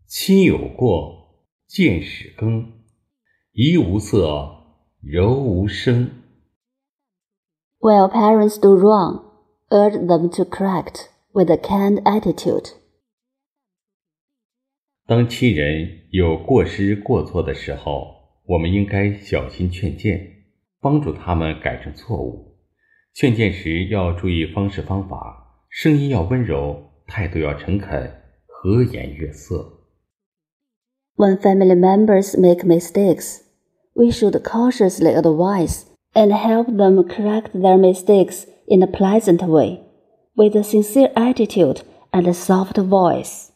亲有过，见始更，怡无色，柔无声。 While parents do wrong, urge them to correct with a kind attitude. 当亲人有过失过错的时候，我们应该小心劝谏，帮助他们改正错误。劝谏时要注意方式方法，声音要温柔，态度要诚恳，和颜悦色。 When family members make mistakes, we should cautiously advise and help them correct their mistakes in a pleasant way, with a sincere attitude and a soft voice.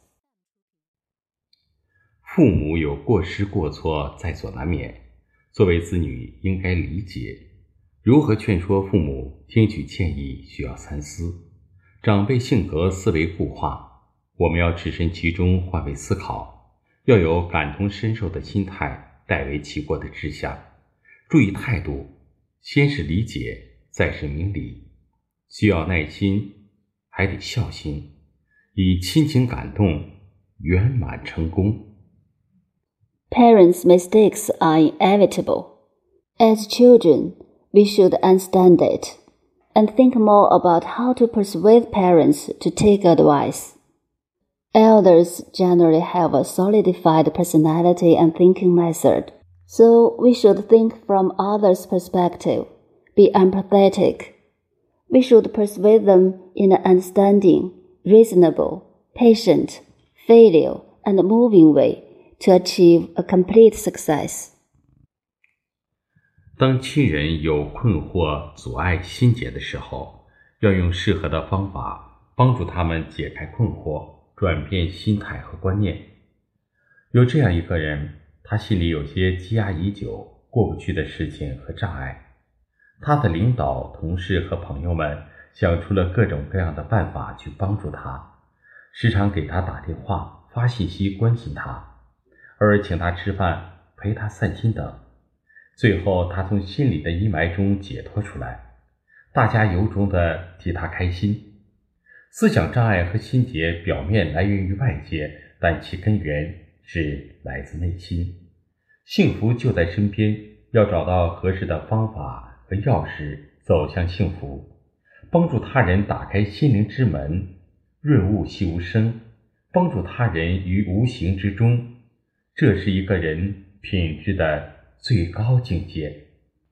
父母有过失过错在所难免，作为子女应该理解。如何劝说父母听取建议需要三思。长辈性格思维固化，我们要置身其中换位思考，要有感同身受的心态，代为其过的志向。注意态度，先是理解，再是明理。需要耐心，还得孝心，以亲情感动，圆满成功。 Parents' mistakes are inevitable. As children, we should understand it and think more about how to persuade parents to take advice. Elders generally have a solidified personality and thinking method, so we should think from others' perspective, be empathetic. We should persuade them in an understanding, reasonable, patient, filial, and moving way to achieve a complete success. 当亲人有困惑、阻碍、心结的时候，要用适合的方法帮助他们解开困惑，转变心态和观念。有这样一个人，他心里有些积压已久、过不去的事情和障碍。他的领导、同事和朋友们想出了各种各样的办法去帮助他，时常给他打电话、发信息关心他，偶尔请他吃饭、陪他散心等。最后他从心里的阴霾中解脱出来，大家由衷地替他开心。思想障碍和心结表面来源于外界，但其根源是来自内心。幸福就在身边，要找到合适的方法和钥匙走向幸福，帮助他人打开心灵之门，润物细无声，帮助他人于无形之中，这是一个人品质的最高境界。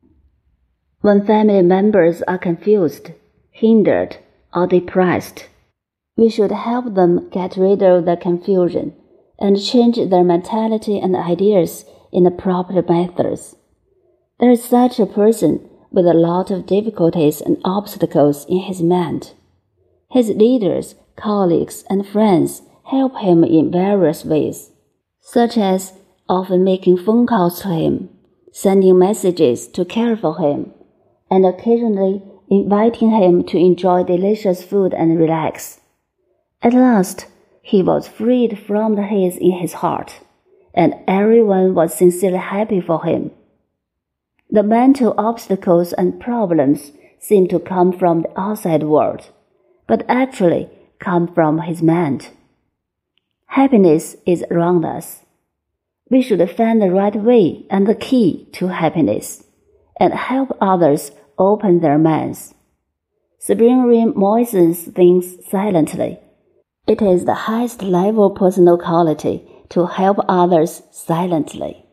When family members are confused, hindered, or depressed, we should help them get rid of their confusion and change their mentality and ideas in the proper methods. There is such a person with a lot of difficulties and obstacles in his mind. His leaders, colleagues, and friends help him in various ways, such as often making phone calls to him, sending messages to care for him, and occasionally inviting him to enjoy delicious food and relax. At last, he was freed from the haze in his heart, and everyone was sincerely happy for him. The mental obstacles and problems seem to come from the outside world, but actually come from his mind. Happiness is around us. We should find the right way and the key to happiness, and help others open their minds. Spring rain moistens things silently. It is the highest level personal quality to help others silently.